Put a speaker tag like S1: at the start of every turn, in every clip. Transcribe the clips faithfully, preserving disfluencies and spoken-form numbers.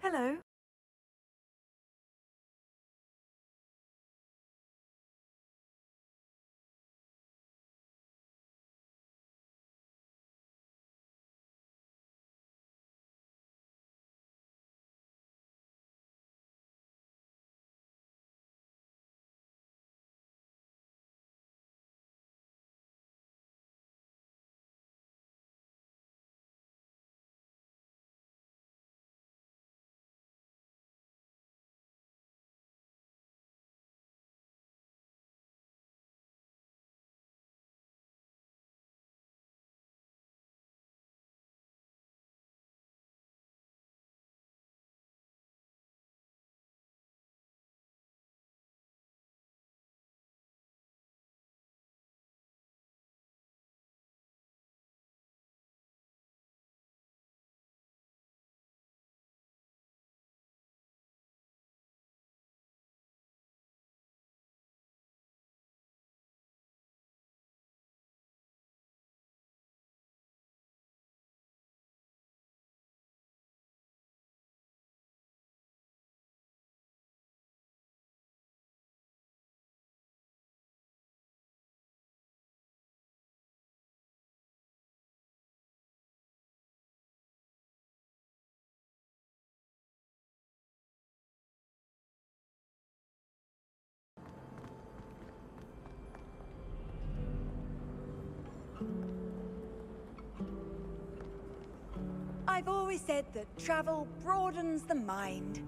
S1: Hello.
S2: I've always said that travel broadens the mind.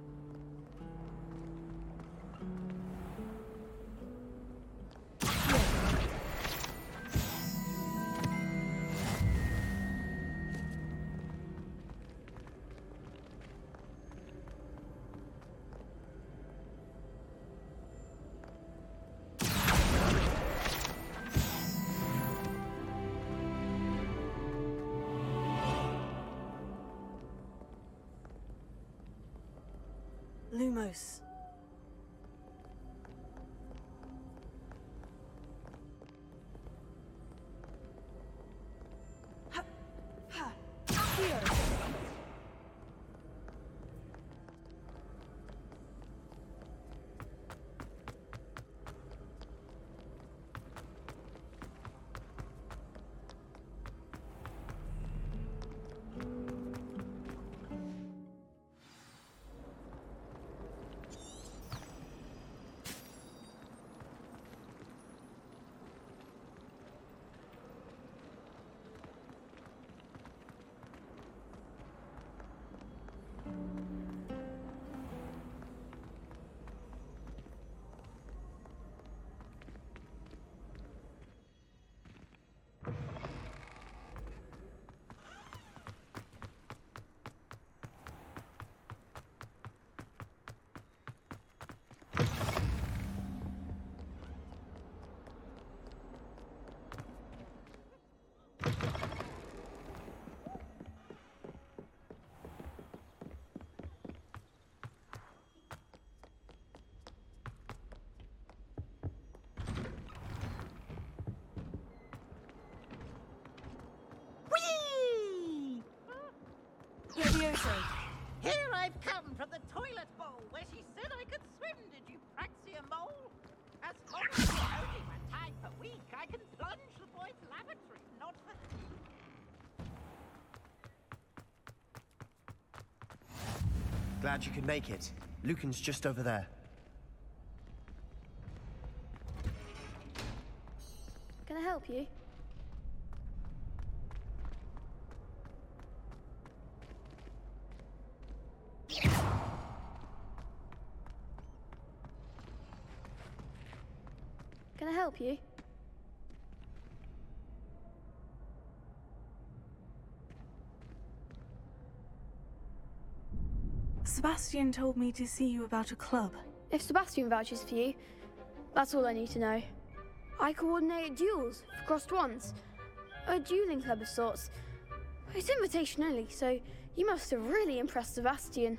S1: Lumos.
S2: Ha! Ha! Here!
S3: Here I've come from the toilet bowl where she said I could swim, did you praxia mole? As long as it's only one time per week, I can plunge the boy's lavatory, not for...
S4: Glad you could make it. Lucan's just over there.
S5: Can I help you? Can I help you?
S1: Sebastian told me to see you about a club.
S5: If Sebastian vouches for you, that's all I need to know. I coordinate duels for crossed ones. A dueling club of sorts. It's invitation only, so you must have really impressed Sebastian.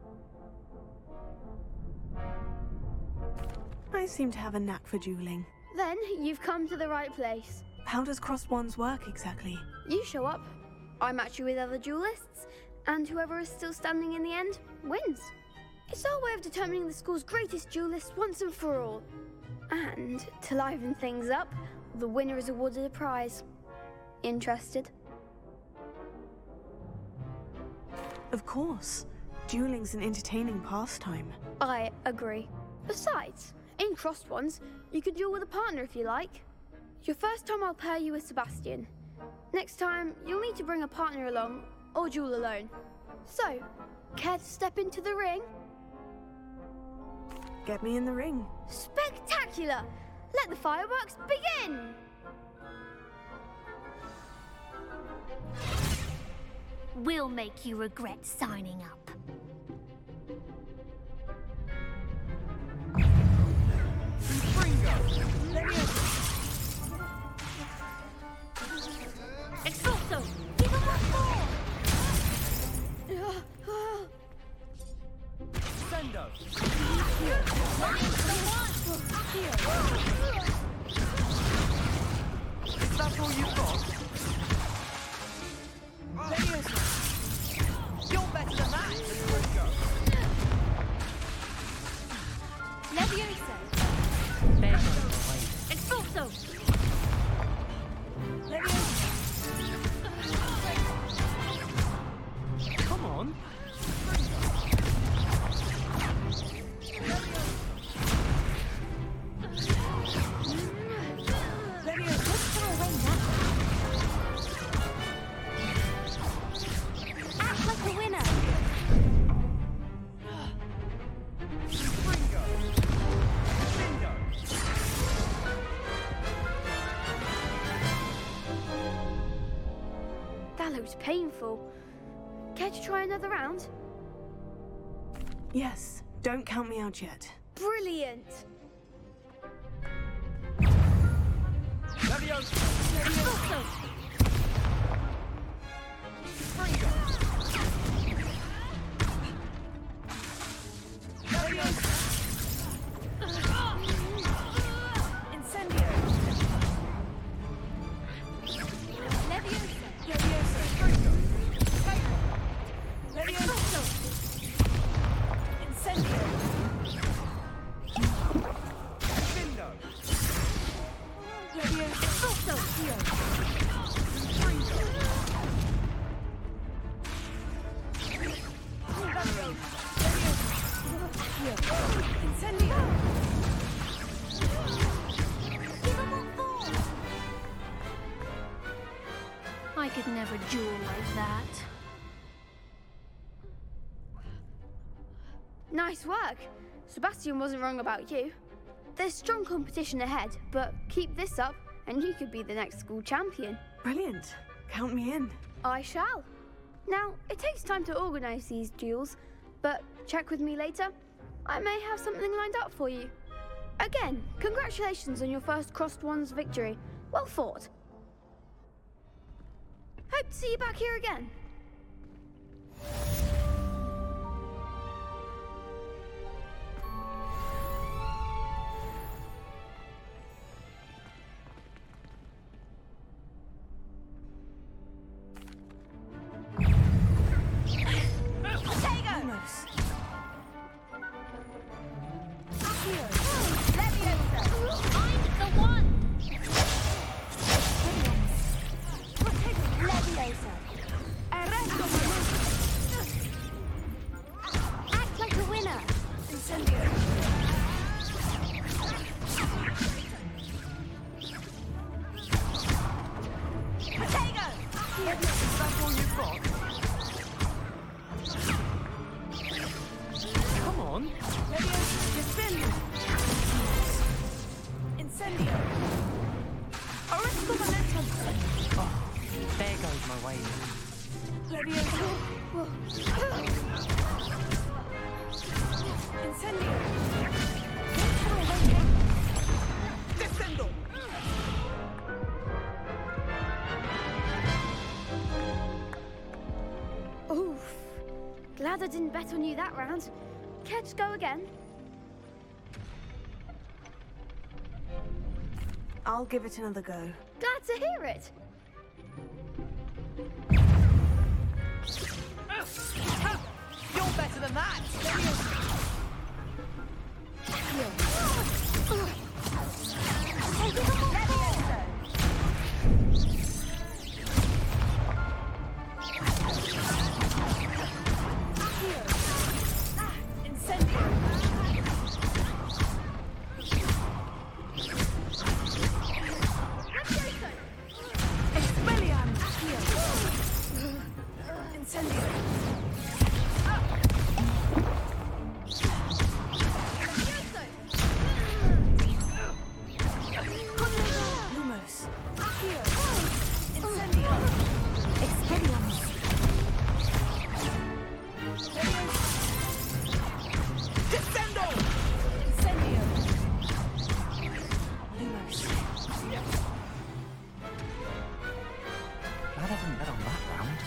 S1: I seem to have a knack for dueling.
S5: Then you've come to the right place.
S1: How does Crossed Wands work exactly?
S5: You show up, I match you with other duelists, and whoever is still standing in the end wins. It's our way of determining the school's greatest duelist once and for all. And to liven things up, the winner is awarded a prize. Interested?
S1: Of course. Dueling's an entertaining pastime.
S5: I agree. Besides, in Crossed Wands, you can duel with a partner if you like. Your first time I'll pair you with Sebastian. Next time, you'll need to bring a partner along, or duel alone. So, care to step into the ring?
S1: Get me in the ring.
S5: Spectacular! Let the fireworks begin!
S6: We'll make you regret signing up. Expulso! Give him what for!
S4: Sendo! Is that all you've got?
S2: Leviosa! You're better than that!
S6: Leviosa! Expulso!
S4: Come on!
S6: Act like a winner!
S5: That looks painful. Care to try another round?
S1: Yes, don't count me out yet.
S5: Brilliant!
S6: Expulso!
S2: Incendio!
S6: Leviosa!
S2: Leviosa! Incendio!
S6: Expulso!
S2: Incendio!
S6: Give him what for! I could never duel like that.
S5: Nice work! Sebastian wasn't wrong about you. There's strong competition ahead, but keep this up and you could be the next school champion.
S1: Brilliant. Count me in.
S5: I shall. Now, it takes time to organise these duels, but check with me later. I may have something lined up for you. Again, congratulations on your first Crossed Wands victory. Well fought. Hope to see you back here again.
S1: Lumos.
S6: I'm the one!
S2: Leviosa!
S6: Act like a winner!
S2: Incendio! Potato!
S4: Is that all you've got? Come on!
S2: Leviosa! Dispello! Incendio! Orisco Momentum!
S7: Oh, there goes my way.
S2: Leviosa! Incendio! Descendo!
S5: Oof. Glad I didn't bet on you that round. Care to go again?
S1: I'll give it another go.
S5: Glad to hear it.
S2: You're better than that.
S7: Glad I didn't bet on that round.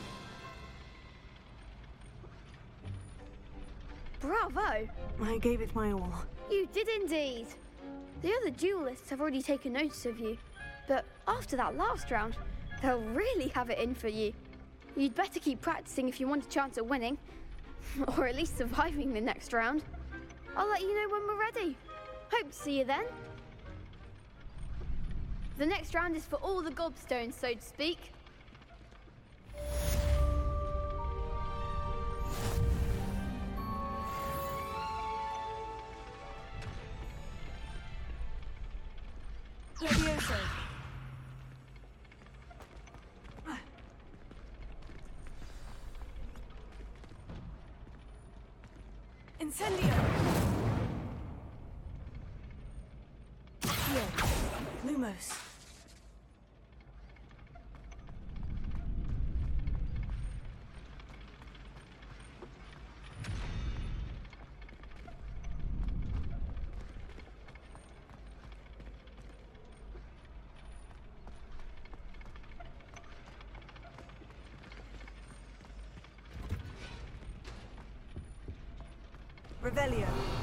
S5: Bravo!
S1: I gave it my all.
S5: You did indeed. The other duelists have already taken notice of you, but after that last round, they'll really have it in for you. You'd better keep practicing if you want a chance at winning, or at least surviving the next round. I'll let you know when we're ready. Hope to see you then. The next round is for all the gobstones, so to speak.
S1: Levioso. Incendio. Here. Lumos. Revelio.